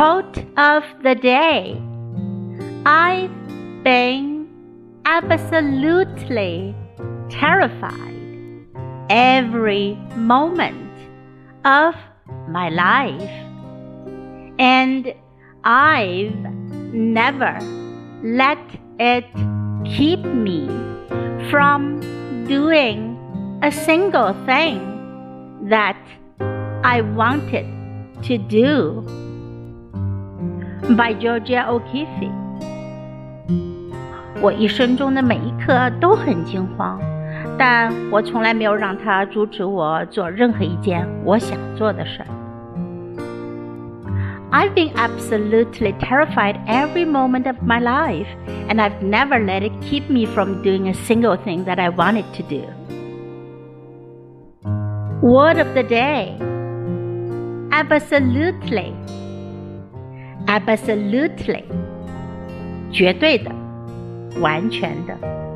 Quote of the day. I've been absolutely terrified every moment of my life, and I've never let it keep me from doing a single thing that I wanted to do. By Georgia O'Keeffe。 我一生中的每一刻都很惊慌，但我从来没有让它阻止我做任何一件我想做的事儿。I've been absolutely terrified every moment of my life, and I've never let it keep me from doing a single thing that I wanted to do. Word of the day. Absolutely. Absolutely. 绝对的，完全的。